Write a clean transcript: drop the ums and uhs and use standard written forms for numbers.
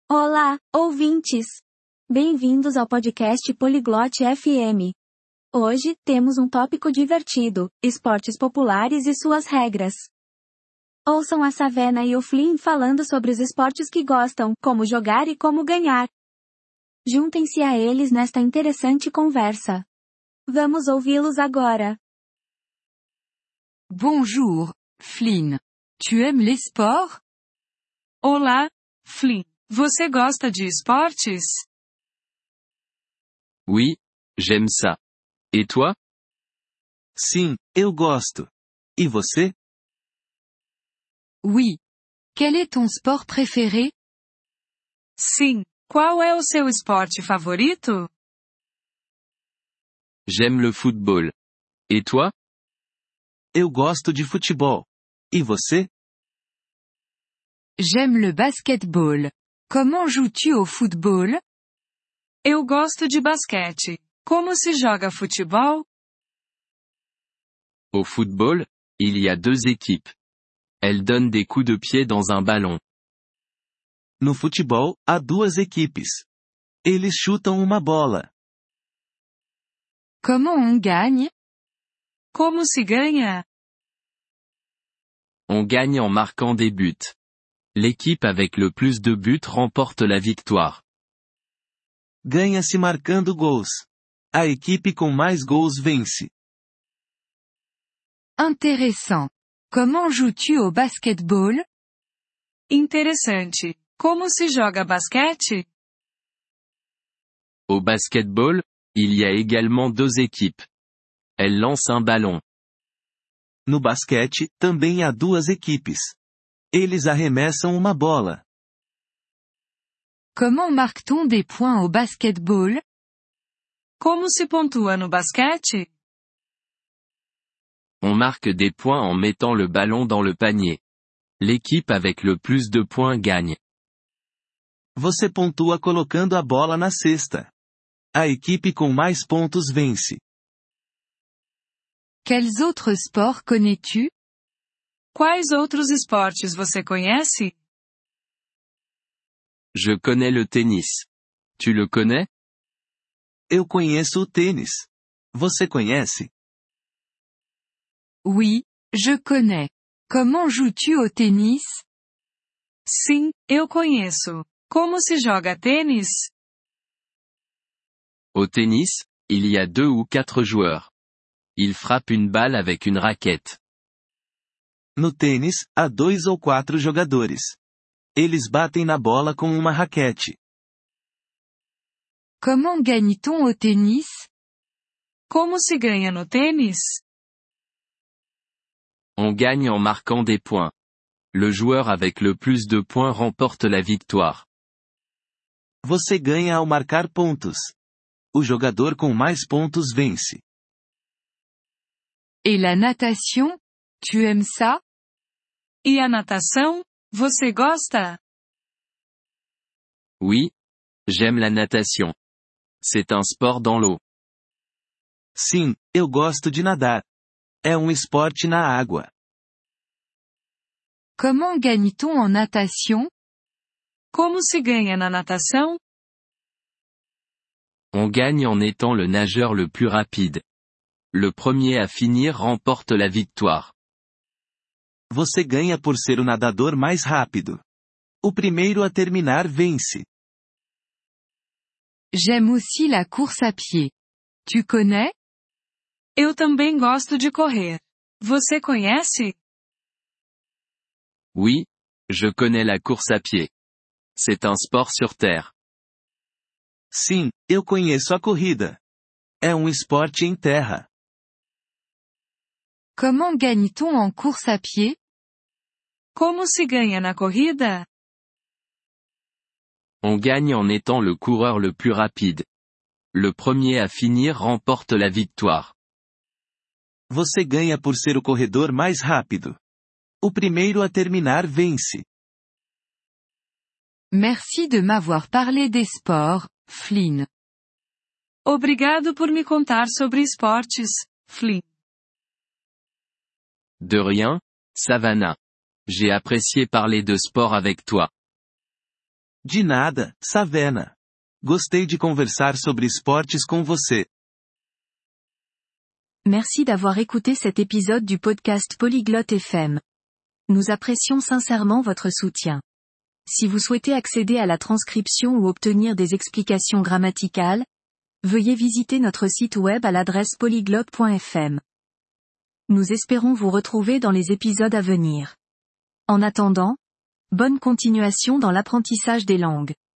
Olá, ouvintes! Bem-vindos ao podcast Poliglote FM. Hoje, temos um tópico divertido: esportes populares e suas regras. Ouçam a Savannah e o Flynn falando sobre os esportes que gostam, como jogar e como ganhar. Juntem-se a eles nesta interessante conversa. Vamos ouvi-los agora. Bonjour, Flynn. Tu aimes les sports? Olá, Flynn. Você gosta de esportes? Oui, j'aime ça. Et toi? Sim, eu gosto. E você? Oui. Quel est ton sport préféré? Sim. Qual é o seu esporte favorito? J'aime le football. Et toi? Eu gosto de futebol. E você? J'aime le basketball. Comment joues-tu au football? Eu gosto de basquete. Como se joga futebol? Au football, il y a deux équipes. Elles donnent des coups de pied dans un ballon. No futebol, há duas equipes. Eles chutam uma bola. Comment on gagne? Como se ganha? On gagne en marquant des buts. L'équipe avec le plus de buts remporte la victoire. Ganha-se marcando gols. A equipe com mais gols vence. Intéressant. Comment joues-tu au basketball? Interessante. Como se joga basquete? Au basketball, il y a également deux équipes. Elles lancent un ballon. No basquete, também há duas equipes. Eles arremessam uma bola. Comment marque-t-on des points au basketball? Como se pontua no basquete? On marque des points en mettant le ballon dans le panier. L'équipe avec le plus de points gagne. Você pontua colocando a bola na cesta. A equipe com mais pontos vence. Quels autres sports connais-tu? Quais outros esportes você conhece? Je connais le tennis. Tu le connais? Eu conheço o tênis. Você conhece? Oui, je connais. Comment joues-tu au tennis? Sim, eu conheço. Como se joga tênis? Au tennis, il y a 2 ou 4 joueurs. Ils frappent une balle avec une raquette. No tênis, há 2 ou 4 jogadores. Eles batem na bola com uma raquete. Comment gagne-t-on au tennis? Como se ganha no tênis? On gagne en marquant des points. Le joueur avec le plus de points remporte la victoire. Você ganha ao marcar pontos. O jogador com mais pontos vence. Et la natation? Tu aimes ça? E a natação? Você gosta? Oui. J'aime la natation. C'est un sport dans l'eau. Sim, eu gosto de nadar. É um esporte na água. Comment gagne-t-on en natation? Como se ganha na natação? On gagne en étant le nageur le plus rapide. Le premier à finir remporte la victoire. Você ganha por ser o nadador mais rápido. O primeiro a terminar vence. J'aime aussi la course à pied. Tu connais? Eu também gosto de correr. Você conhece? Oui, je connais la course à pied. C'est un sport sur terre. Sim, eu conheço a corrida. É um esporte em terra. Comment gagne-t-on en course à pied? Como se ganha na corrida? On gagne en étant le coureur le plus rapide. Le premier à finir remporte la victoire. Você ganha por ser o corredor mais rápido. O primeiro a terminar vence. Merci de m'avoir parlé des sports, Flynn. Obrigado por me contar sobre esportes, Flynn. De rien, Savannah. J'ai apprécié parler de sport avec toi. De nada, Savannah. Gostei de conversar sobre esportes com você. Merci d'avoir écouté cet épisode du podcast Polyglotte FM. Nous apprécions sincèrement votre soutien. Si vous souhaitez accéder à la transcription ou obtenir des explications grammaticales, veuillez visiter notre site web à l'adresse polyglotte.fm. Nous espérons vous retrouver dans les épisodes à venir. En attendant, bonne continuation dans l'apprentissage des langues.